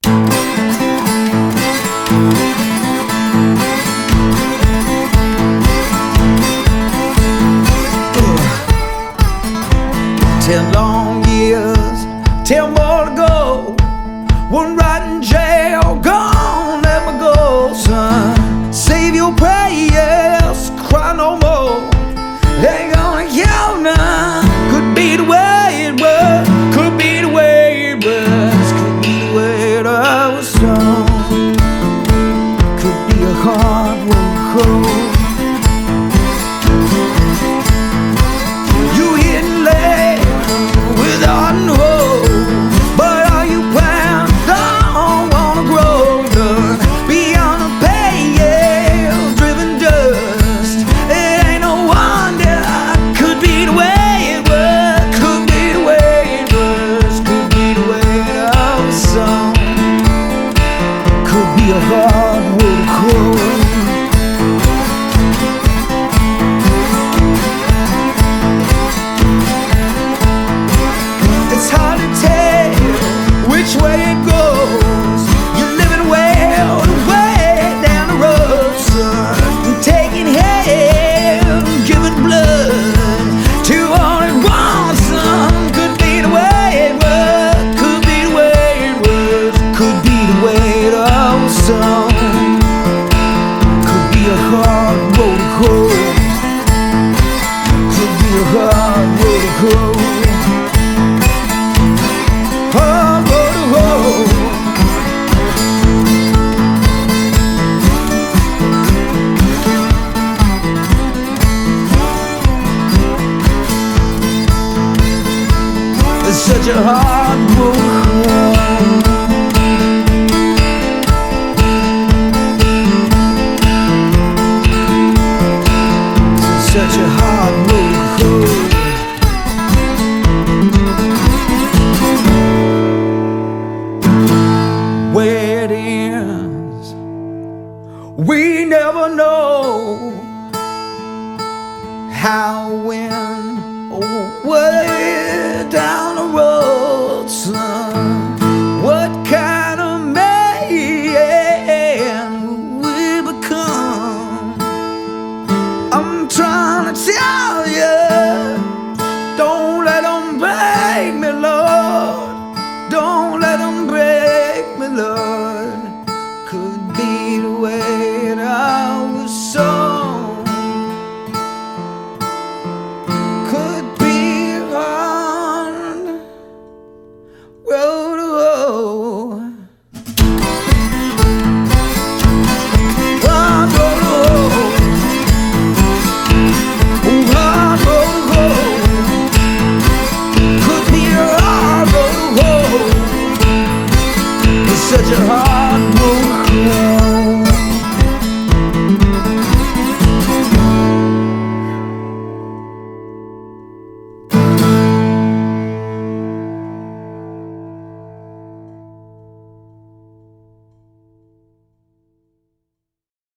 10 long years, 10 more to go. One right in jail, gone, let me go, son. Save your prayers, cry no more. They ain't gonna kill none. Could be the way it was, could be the way it was, could be the way it was, son. Could be a hard one cold. A hard way to go. It's hard to tell which way it goes. You're living well, way down the road, son. You're taking hell, giving blood to all it wants, son. Could be the way it was, could be the way it was, could be the way it was. Some could be a hard road to go. Could be a hard road to go. Hard road to go. It's such a hard road to go. Such a hard road to go. Where it ends, we never know. How